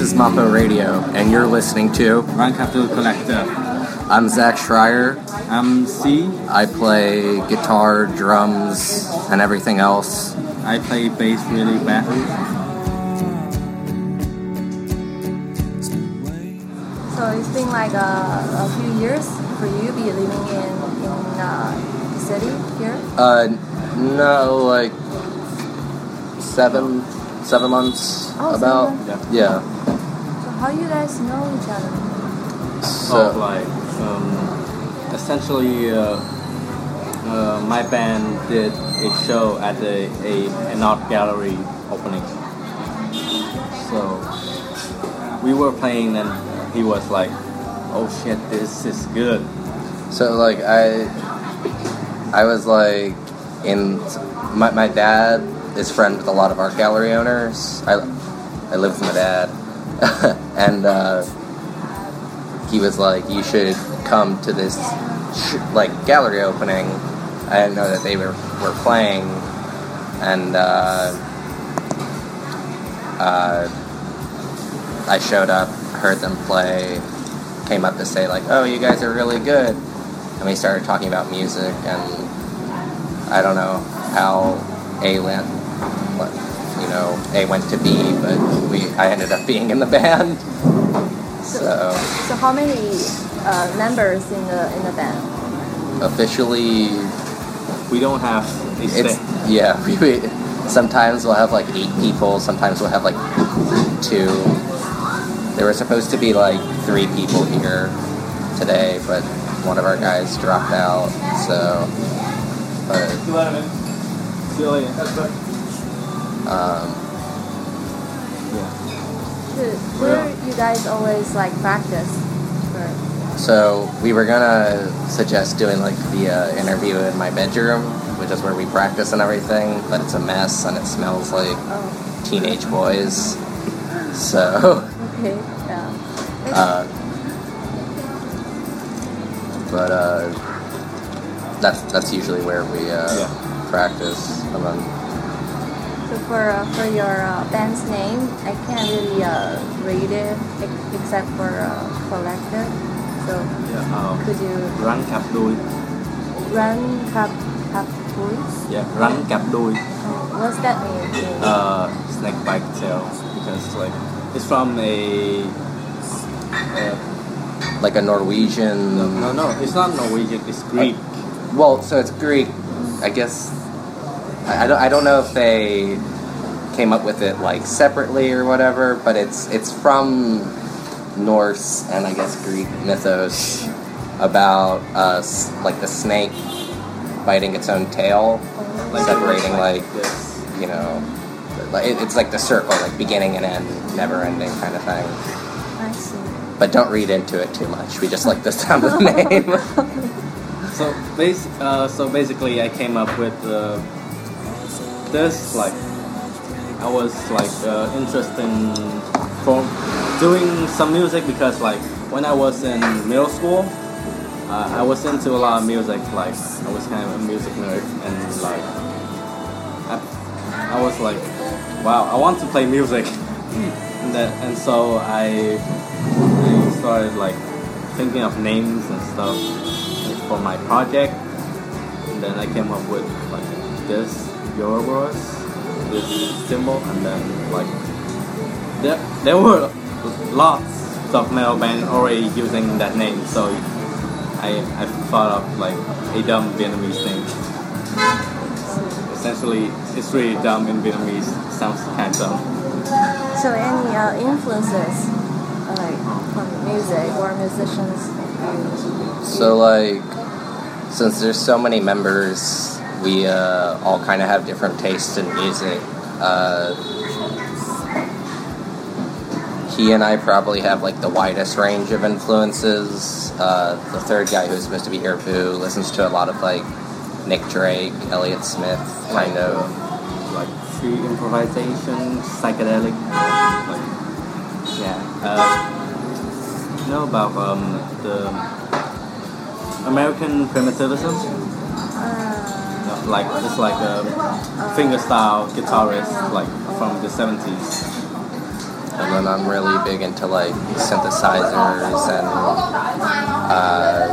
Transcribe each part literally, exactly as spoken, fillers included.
is Mapo Radio, and you're listening to Run Capital Collector. I'm Zach Schreier. I'm C. I play guitar, drums, and everything else. I play bass really badly. So it's been like a, a few years for you be living in, in uh, the city here? Uh, no, like seven, seven months Oh, about. seven months? Yeah. So how you guys know each other? So, oh, like, um, essentially, uh, uh, my band did a show at a, a an art gallery opening. So we were playing, and he was like, "Oh shit, this is good." so like I, I was like in my my dad is friend with a lot of art gallery owners. I, I live with my dad, and uh, he was like, "You should come to this sh- like gallery opening." I didn't know that they were were playing, and uh, uh, I showed up, heard them play, came up to say like, "Oh, you guys are really good," and we started talking about music, and I don't know how A went, what, you know, A went to B, but we I ended up being in the band. So, So how many uh, members in the in the band? officially, We don't have a it's set. yeah. We, we sometimes we'll have like eight people. Sometimes we'll have like two. There were supposed to be like three people here today, but one of our guys dropped out. So, but um, Should, where you guys always like practice? For? so we were gonna suggest doing like the uh, interview in my bedroom, which is where we practice and everything. But it's a mess and it smells like Oh, teenage boys. So. okay, yeah. Uh, but uh, that's that's usually where we uh, Yeah. practice. And then, So for uh, for your uh, band's name, I can't really uh, read it ex- except for uh, collective. So Yeah, um, could you Run Cap Đuôi. run cap cap boys? Yeah, Run Cap Đuôi. Oh, what's that mean? in- Uh, snake bite tail, because like it's from a. Uh, like a Norwegian. no, no, it's not Norwegian. It's Greek. Well, so it's Greek. I guess I, I don't I don't know if they came up with it like separately or whatever, but it's it's from Norse and I guess Greek mythos about uh, s- like the snake biting its own tail, Oh, separating like Yes. you know, like it, it's like the circle, like beginning and end, never ending kind of thing. I see. But don't read into it too much. We just like the sound of the name. So bas- uh, so basically, I came up with uh, this. Like, I was like uh, interested in for doing some music because like when I was in middle school, uh, I was into a lot of music. Like I was kind of a music nerd, and like I, I was like, wow, I want to play music. and that, and so I, I started like thinking of names and stuff for my project, and then I came up with like this Ouroboros, this symbol, and then like there there were lots of metal bands already using that name, so I I thought of like a dumb Vietnamese name. Essentially, it's really dumb in Vietnamese. Sounds kind of dumb. So any uh, influences uh, like from music or musicians? you- So like, since there's so many members, we uh, all kind of have different tastes in music. Uh, he and I probably have like the widest range of influences. Uh, the third guy who's supposed to be here, Boo, listens to a lot of like Nick Drake, Elliott Smith, kind of. Like free improvisation, psychedelic, like yeah. Uh, you know about um, the American primitivism? Uh, No, like it's like a fingerstyle guitarist, like from the seventies. And then I'm really big into like synthesizers and uh,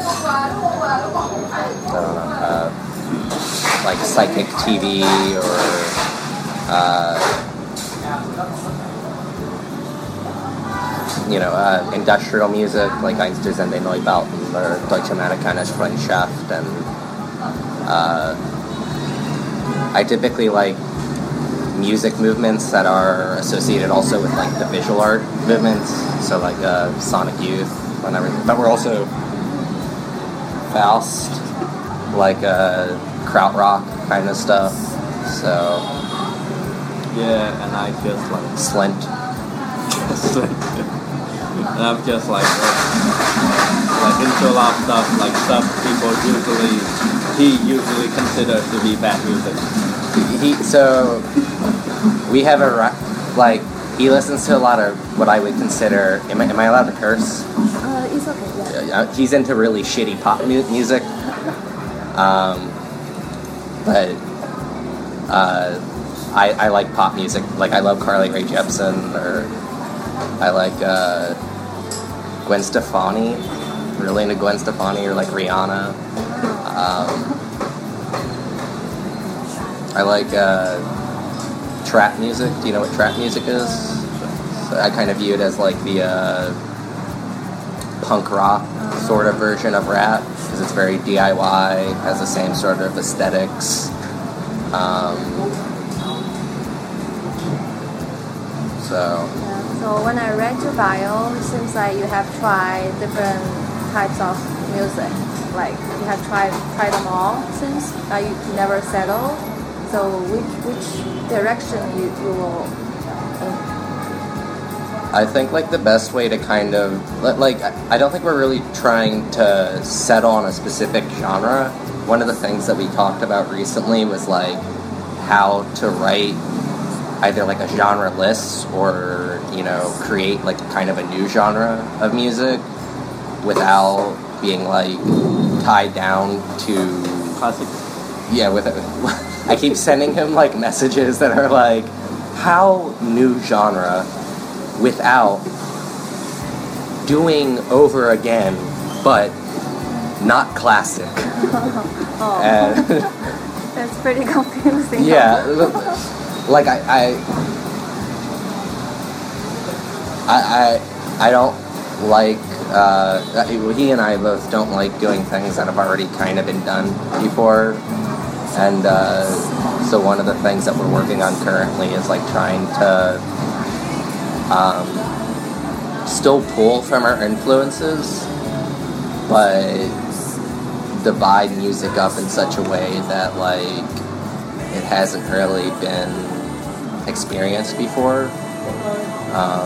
I don't know, uh, like psychic T V or uh, you know, uh, industrial music like Einstürzende and Neubauten or Deutsche Amerikanische Freundschaft, and uh, I typically like music movements that are associated also with like the visual art movements, so like uh, Sonic Youth and everything. But we're also Faust, like uh, krautrock kind of stuff. So yeah, and I just like Slint. Slint. And I'm just like uh, like into a lot of stuff, like stuff people usually he usually considers to be bad music. He so we have a ra- like he listens to a lot of what I would consider. Am I, am I allowed to curse? Uh, it's okay. Yeah. Uh, He's into really shitty pop mu- music. Um, but uh, I I like pop music. Like I love Carly Rae Jepsen, or I like uh, Gwen Stefani. Really into Gwen Stefani, or like Rihanna. Um, I like uh, trap music. Do you know what trap music is? So I kind of view it as like the uh, punk rock sort of version of rap, because it's very D I Y, has the same sort of aesthetics. Um, so. Yeah. So when I read your bio, it seems like you have tried different types of music. Like you have tried tried them all since uh, you never settled. So which which direction you, you will? I think like the best way to kind of like I don't think we're really trying to settle on a specific genre. One of the things that we talked about recently was like how to write either like a genre list or, you know, create like kind of a new genre of music without being like tied down to Classic. yeah with it. I keep sending him like messages that are like, how new genre without doing over again but not classic. Oh, And that's pretty confusing. yeah, like I I I I, I don't like uh, he and I both don't like doing things that have already kind of been done before. And uh, so one of the things that we're working on currently is like trying to um, still pull from our influences, but divide music up in such a way that like it hasn't really been experienced before. Um,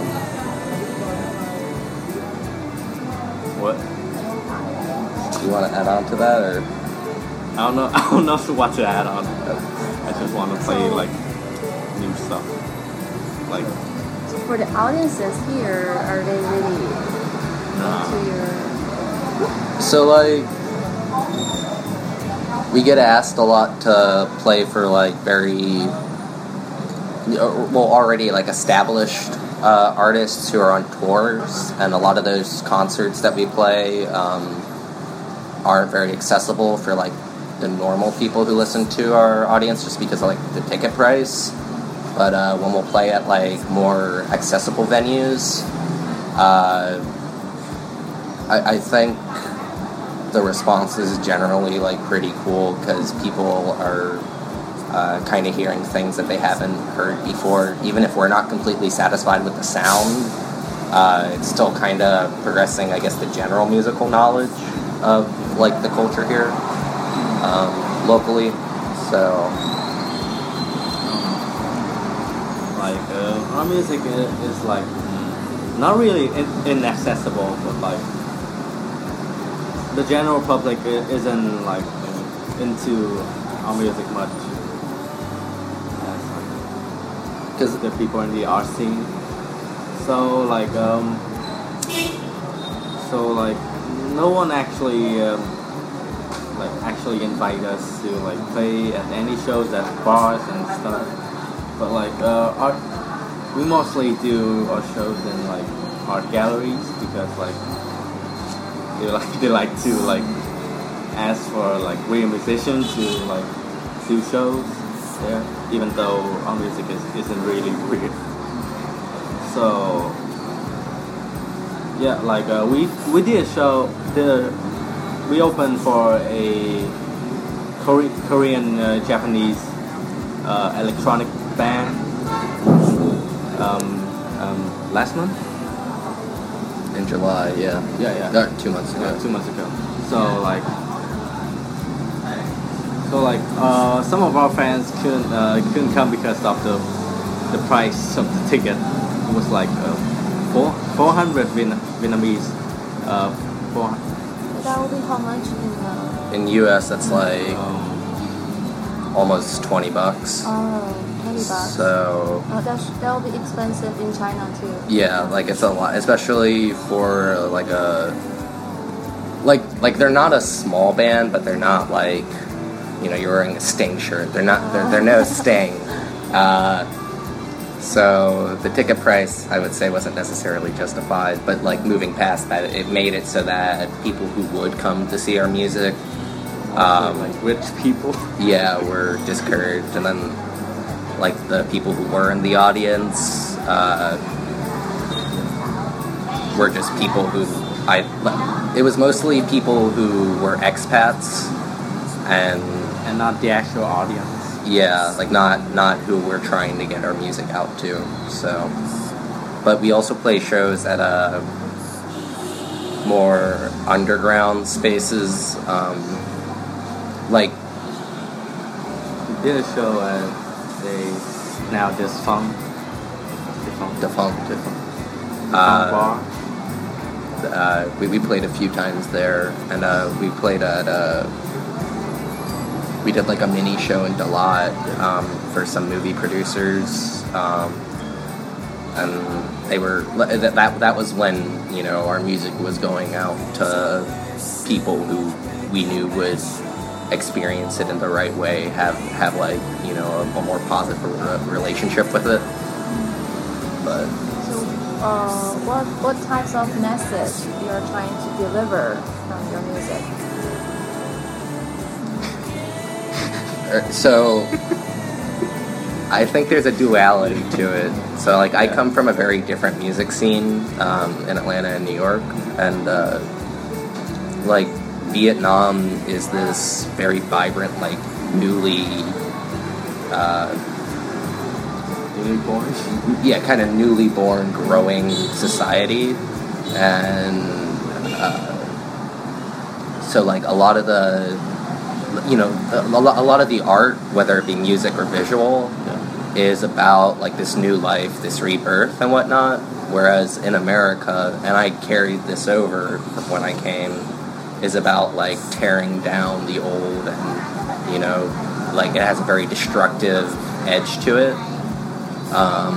What? do you want to add on to that, or? I don't know. I don't know what to add on. I just want to play like new stuff. Like So for the audiences here, are they really nah. into your? So like we get asked a lot to play for like very well already like established uh, artists who are on tours, and a lot of those concerts that we play um, aren't very accessible for like the normal people who listen to our audience, just because of like the ticket price. But uh, when we'll play at like more accessible venues, uh, I, I think the response is generally like pretty cool, because people are uh, kind of hearing things that they haven't heard before. Even if we're not completely satisfied with the sound, uh, it's still kind of progressing, I guess, the general musical knowledge of like the culture here um, locally. So like uh, our music is, is like mm, not really in- inaccessible, but like the general public i- isn't like into our music much. Because the people in the art scene. So like um, so like no one actually um, like actually invite us to like play at any shows at bars and stuff. But like uh, our we mostly do our shows in like art galleries because like they like they like to like ask for like real musicians to like do shows there, even though our music is, isn't really real. So yeah, like uh, we we did a show. The we opened for a Kore- Korean uh, Japanese uh, electronic band um, um, last month. In July, yeah. Yeah, yeah. No, two months ago. Yeah, two months ago. So like, so like, uh, some of our fans couldn't uh, couldn't come because of the the price of the ticket. It was like uh, four four hundred Vietnam, Vietnamese. Uh, four. That will be how much in uh, In U S, that's like Um, almost twenty bucks. oh, twenty bucks. So Oh, that's, that will be expensive in China too. yeah, like it's a lot, especially for uh, like a like like they're not a small band, but they're not like, you know, you're wearing a Sting shirt. They're not. They're, they're no Sting. Uh, so the ticket price, I would say, wasn't necessarily justified. But like moving past that, it made it so that people who would come to see our music, um, like rich people. yeah, were discouraged, and then like the people who were in the audience uh, were just people who I. It was mostly people who were expats, and And not the actual audience. yeah, like not not who we're trying to get our music out to. So, but we also play shows at uh, more underground spaces, um, like We did a show at a now defunct, defunct, Defunct. defunct, Uh, bar. uh, we we played a few times there, and uh, we played at uh, we did like a mini show in Dalat um, for some movie producers, um, and they were that, that that was when, you know, our music was going out to people who we knew would experience it in the right way, have have like, you know, a, a more positive re- relationship with it. But So, uh, what what types of message you are trying to deliver from your music? Er, So, I think there's a duality to it. So, like, I come from a very different music scene um, in Atlanta and New York, and uh, like Vietnam is this very vibrant, like newly, uh, Newly born. yeah, kind of newly born, growing society, and uh, so like a lot of the, you know, a, a lo- a lot of the art, whether it be music or visual, Yeah. is about like this new life, this rebirth and whatnot. Whereas in America, and I carried this over from when I came, is about like tearing down the old, and, you know, like it has a very destructive edge to it. Um,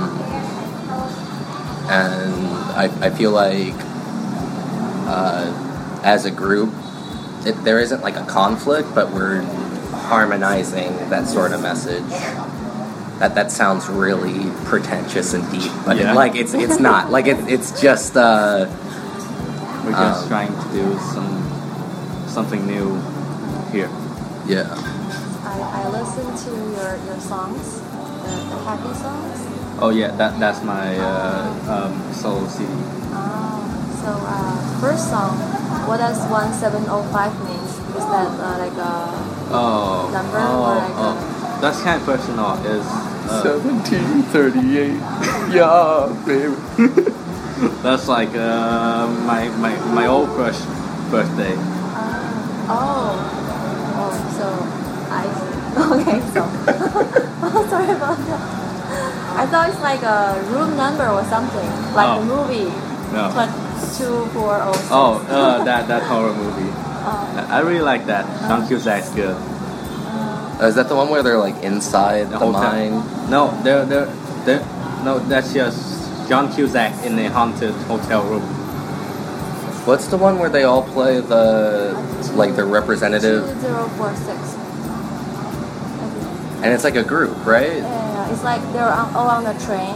and I, I feel like uh, as a group, it, there isn't like a conflict, but we're harmonizing that sort of message. That that sounds really pretentious and deep, but Yeah. it, like it's it's not. Like it, it's just uh, We're just Um, trying to do some something new here. yeah. I, I listen to your, your songs, the, the happy songs. Oh yeah, that that's my uh, um, solo C D. Ah, so uh, first song, what does one seven oh five mean? Is that uh, like a Oh, number oh, or like oh. a... That's kind of personal. Is uh, Seventeen thirty-eight. Yeah, baby. that's like uh, my my my old crush birthday. Uh, oh, oh, so I okay, so oh, sorry about that. I thought it's like a room number or something, like Oh. the movie. No. Two four oh six. Oh, uh, that that horror movie. Oh. I I really like that. John Cusack's good. Uh, is that the one where they're like inside the, hotel. mine? No, they're they're they're no. That's just John Cusack in a haunted hotel room. What's the one where they all play the like the representative, Two zero four six. and it's like a group, right? Yeah, it's like they're on, all on the train,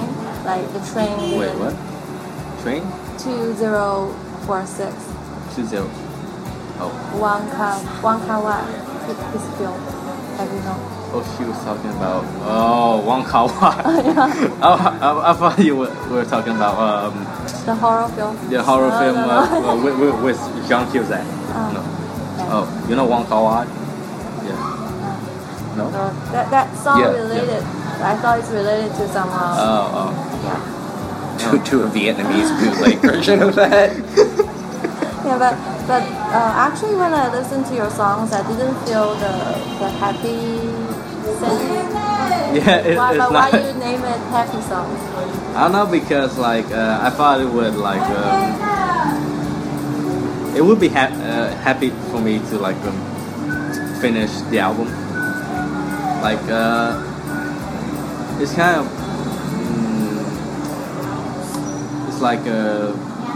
Like the train. Wait, didn't- what? Train? Two zero four six. Two zero. Oh. Wang Ka Wang Ka Wai. His film. Have you know? Oh, she was talking about oh Wong Kar Wai. Yeah. oh, I, I thought you were, were talking about um, The horror film. the horror No, film no, uh, no. uh, with, with, with Jean Cusack. Oh. No. Yeah. Oh, you know Wong Kar Wai? Yeah. No. So that that song Yeah, related. I thought it's related to some. Uh, Oh, oh. yeah. to, to a Vietnamese bootleg version of that. Yeah, but but uh, actually, when I listened to your songs, I didn't feel the the happy singing. Yeah, it, Why, it's but not. why you name it happy songs? I don't know because like uh, I thought it would like um, it would be ha- uh, happy for me to like um, finish the album. Like uh, it's kind of mm, it's like a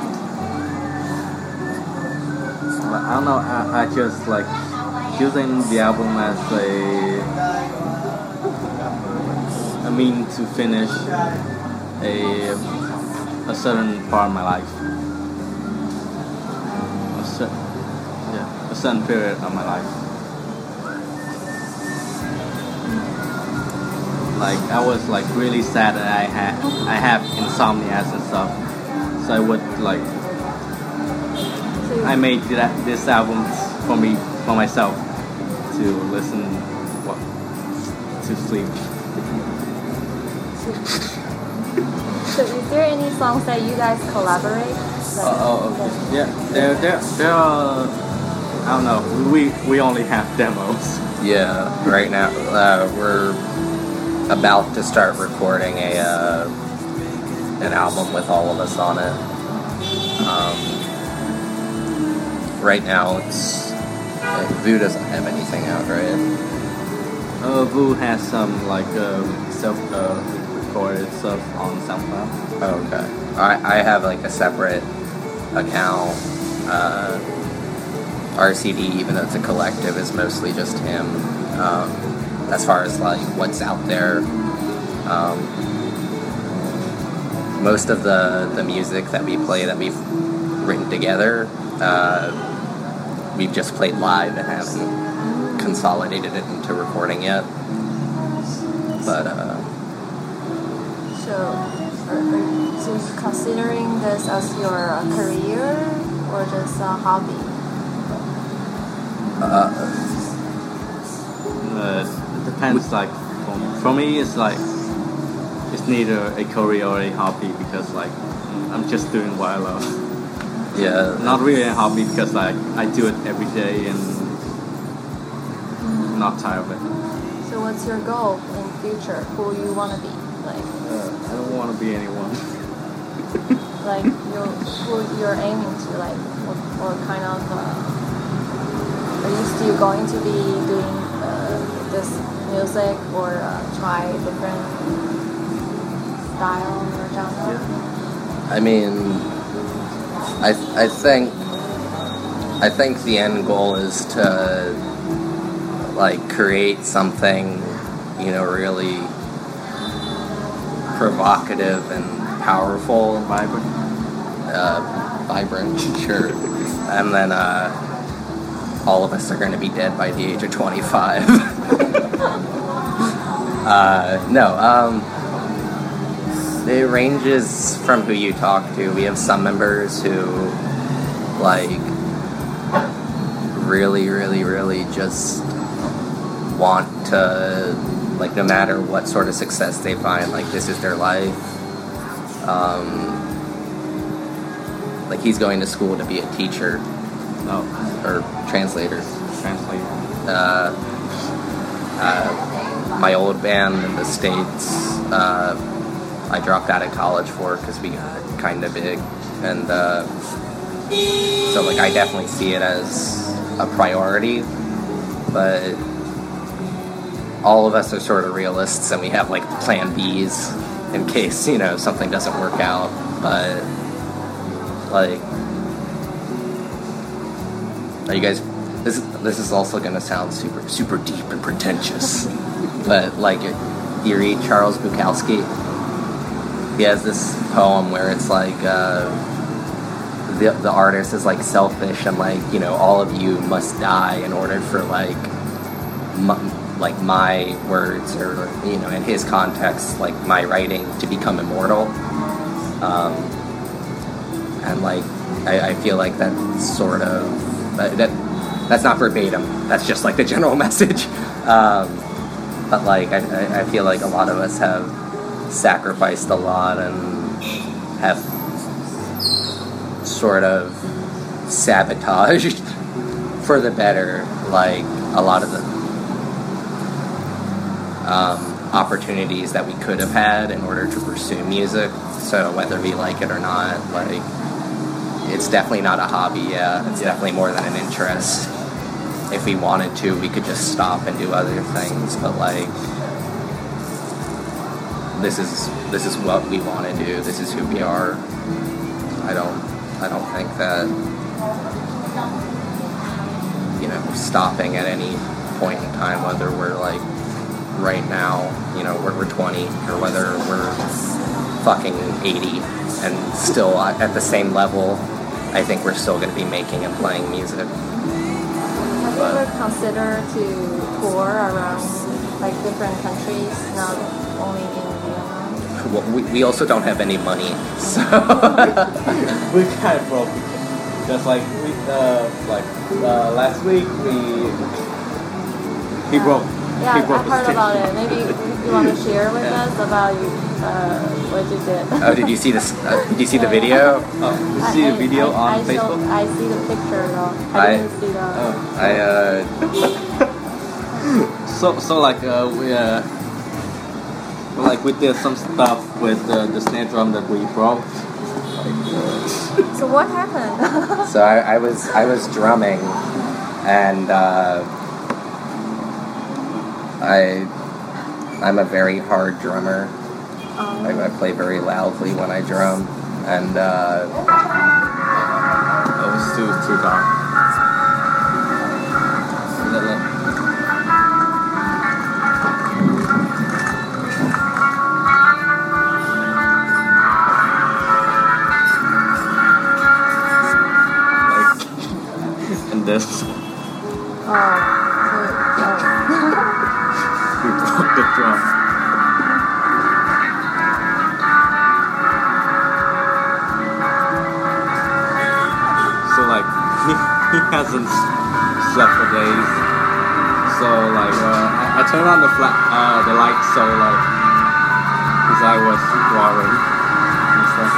I don't know. I, I just like using the album as a a mean to finish a a certain part of my life, a cer- yeah, a certain period of my life. Like I was like really sad that I had I have insomnia and stuff, so I would like So you, I made that this album for me for myself to listen what to sleep. so is there any songs that you guys collaborate? Like, Oh, oh, okay. Yeah, there, there, there are. I don't know. We we only have demos. Yeah, right now uh, we're about to start recording a uh, an album with all of us on it. Um, right now, it's uh, Vu doesn't have anything out, right? Uh, Vu has some like um, self uh, recorded stuff on SoundCloud. Oh, okay. I I have like a separate account. Uh, R C D, even though it's a collective, is mostly just him. Um, as far as like what's out there, um, most of the the music that we play that we've written together, uh, we've just played live and haven't consolidated it into recording yet. But uh, So, are, are, so you considering this as your uh, career or just a hobby? uh, Uh, it depends. Like for, for me, it's like it's neither a career or a hobby because like I'm just doing what I love. yeah, Not really a hobby because like I do it every day and I'm not tired of it. So, what's your goal in future? Who you want to be? Like, Uh, I don't want to be anyone. like you who you're aiming to? Like, what, what kind of? Uh, are you still going to be doing uh, this music or uh, try different style or genre? I mean, I I think I think the end goal is to like create something, you know, really provocative and powerful, Vibrant. uh, vibrant, sure, and then uh, all of us are going to be dead by the age of twenty-five. uh, no, um. It ranges from who you talk to. We have some members who, like, really, really, really just want to, like, no matter what sort of success they find, like, this is their life. Um, like, he's going to school to be a teacher No, or translator. translate. Uh, uh, my old band in the States, uh, I dropped out of college for because we got kind of big, and uh, so like I definitely see it as a priority, but all of us are sort of realists, and we have like plan B's in case, you know, something doesn't work out. But like, are you guys? This is this is also gonna sound super super deep and pretentious, but like, you read Charles Bukowski? he has this poem where it's like uh, the the artist is like selfish and like, you know, all of you must die in order for like m- like my words, or, you know, in his context, like my writing to become immortal. Um, and like I, I feel like that sort of that, that that's not verbatim. That's just like the general message. Um, but like I, I feel like a lot of us have sacrificed a lot and have sort of sabotaged for the better like a lot of the um, opportunities that we could have had in order to pursue music. So whether we like it or not, like, it's definitely not a hobby. Yeah, it's Yeah. definitely more than an interest. If we wanted to, we could just stop and do other things, but like, this is this is what we want to do. This is who we are. I don't I don't think that, you know, stopping at any point in time, whether we're like right now, you know, we're, we're twenty, or whether we're fucking eighty and still at the same level, I think we're still going to be making and playing music. Have you ever considered to tour around like different countries, not only in Vietnam? Well, we, we also don't have any money, so We kind of broke. Just like we, uh, like uh, last week we he broke. Yeah, he I've broke his heard stick. about it. Maybe you want to share with Yeah. us about you, uh, what you did. oh, did you see this? Uh, did you see the video? Oh, you see I- the video I, on I Facebook? Saw, I see the picture though. I, I- didn't see the. Oh. I uh, So so like uh, we uh, well, like we did some stuff with uh, the snare drum that we broke. So what happened? so I, I was I was drumming, and uh, I I'm a very hard drummer. um, I, I play very loudly when I drum, and uh, It was too too dark. Let- let- like, and this oh, so, we broke the drum. So like he, he hasn't slept for days. So like uh, I, I turned on the flat uh, the light, so like his eye was watering and stuff.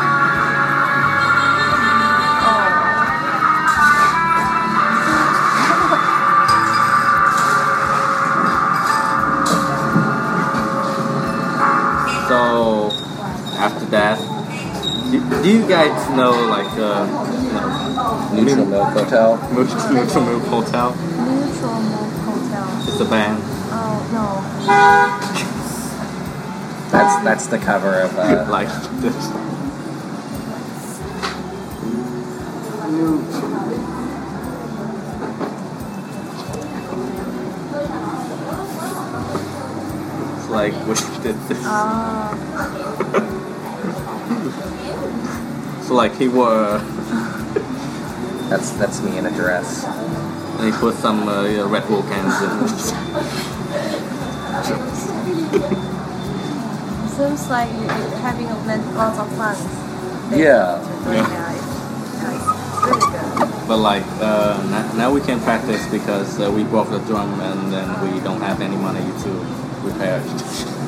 So after that, do, do you guys know like uh, you know, Neutral Milk Hotel. Neutral Neutral Milk Hotel? oh, Neutral Milk Hotel. It's a band. Oh no. That's that's the cover of uh, Like this. It's like we did this. Ah, So like he wore, that's that's me in a dress. he put some uh, yeah, Red Bull cans in. seems like you- you're having a lot- lots of fun. Yeah. Very nice. Nice. Really good. But like uh, now, now we can practice because uh, we broke the drum and then we don't have any money to repair it.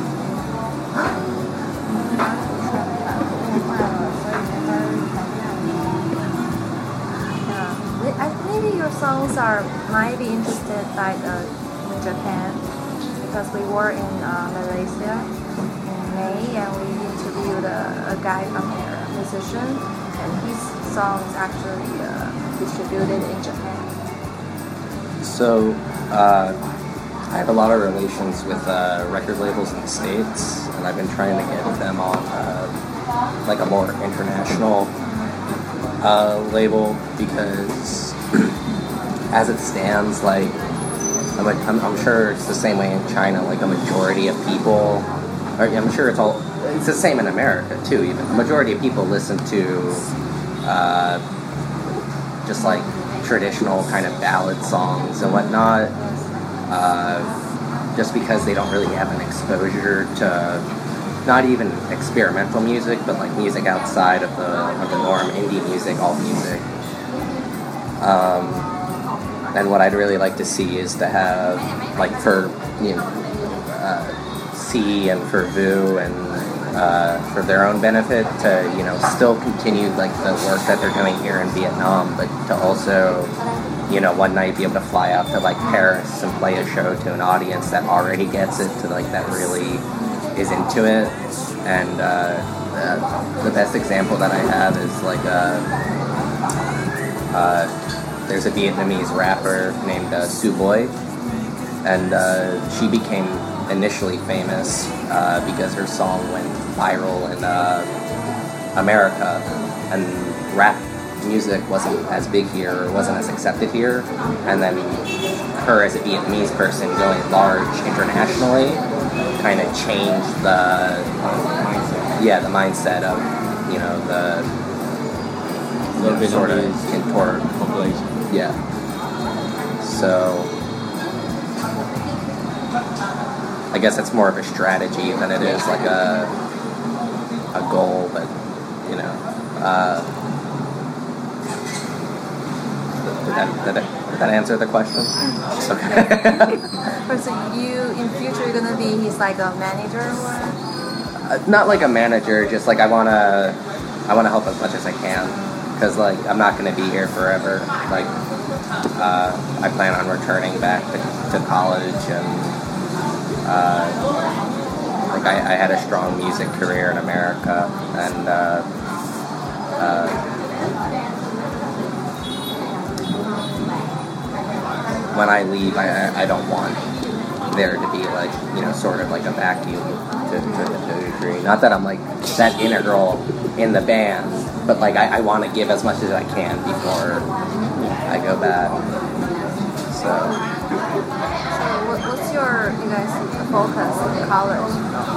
Yeah. We- I- Maybe your songs are might be interested by the in Japan, because we were in uh, Malaysia in May and we interviewed a, a guy from there, a musician, and his songs actually uh, distributed in Japan. So, uh, I have a lot of relations with uh, record labels in the States, and I've been trying to get them on uh, like a more international uh, label, because as it stands, like, I'm, like I'm, I'm sure it's the same way in China, like a majority of people, or I'm sure it's all it's the same in America too. Even the majority of people listen to uh, just like traditional kind of ballad songs and whatnot, uh, just because they don't really have an exposure to not even experimental music, but like music outside of the of the norm, indie music, alt music. Um, and what I'd really like to see is to have, like, for you know, uh, C and for Vu and uh, for their own benefit, to you know still continue like the work that they're doing here in Vietnam, but to also, you know, one night be able to fly out to like Paris and play a show to an audience that already gets it, to like that really is into it. And uh, uh, the best example that I have is like a, uh, there's a Vietnamese rapper named uh, Su Boy, and uh, she became initially famous uh, because her song went viral in uh, America, and rap music wasn't as big here, or wasn't as accepted here, and then her as a Vietnamese person going large internationally kind of changed the mindset. Yeah, the mindset of, you know, the you know, sort of contort population. Yeah. So I guess it's more of a strategy than it is like a a goal, but you know. Uh, did that, did that Did that answer the question? Okay. So you, in future, you're gonna be his like a manager or? Uh, not like a manager, just like I wanna, I wanna help as much as I can, because like I'm not gonna be here forever. Like, uh, I plan on returning back to, to college, and uh, like I, I had a strong music career in America, and uh, uh, when I leave, I, I don't want there to be like, you know, sort of like a vacuum to, to, to a degree. Not that I'm like that integral in the band, but like I, I want to give as much as I can before I go back. So. So what, what's your, you guys' focus in college?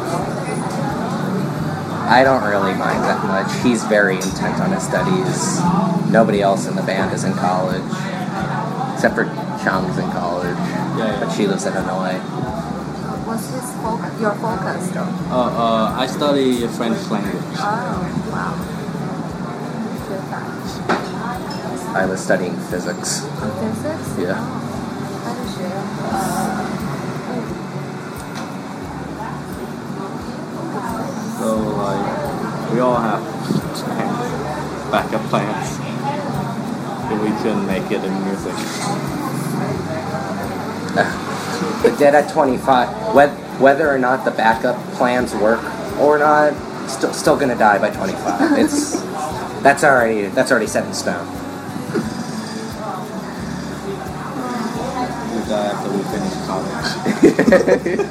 I don't really mind that much. He's very intent on his studies. Nobody else in the band is in college, except for Chang's in college, yeah, yeah. But she lives in Hanoi. What's his focus? Your focus, though? Uh, uh, I study French language. Oh, wow. I was studying physics. Physics? Yeah. How did you? So like, we all have plans, backup plans, if we can make it in music. But dead at twenty-five, whether or not the backup plans work or not, still still gonna die by twenty-five. It's that's already that's already set in stone. We die after we finish college.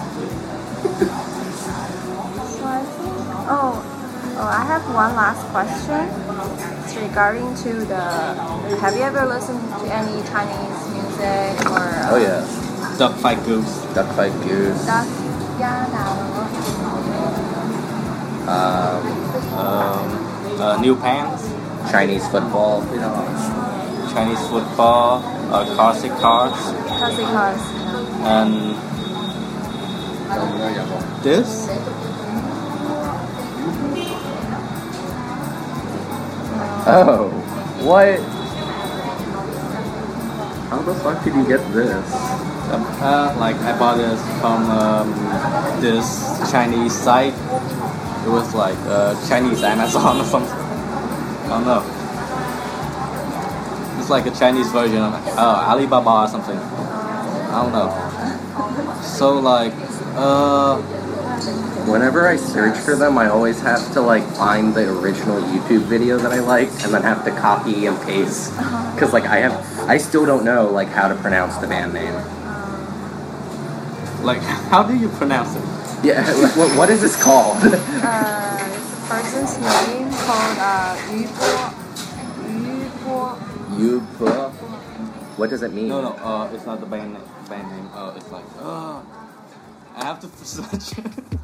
So I think, oh, oh, I have one last question. It's regarding to the. Have you ever listened to any Chinese music or? Uh, Oh yeah. Duck Fight Goose. Duck Fight Goose. Duck, yeah, that Um, Um, uh, New Pants. Chinese football. You know. Chinese football. Uh, classic cars. Classic cars. And this. Oh, what? How the fuck did you get this? Uh, like I bought this from um, this Chinese site. It was like uh, Chinese Amazon or something. I don't know. It's like a Chinese version of uh, Alibaba or something. I don't know. So like, uh, Whenever I search for them, I always have to like find the original YouTube video that I like, and then have to copy and paste. Cause like I have, I still don't know like how to pronounce the band name. like how do you pronounce it? Yeah, what, what is this called? Uh, it's a person's name called uh, Yu Po. Yu Po. Yupo. What does it mean? No, no, uh, it's not the band name. Band name. Uh, it's like, uh, I have to search.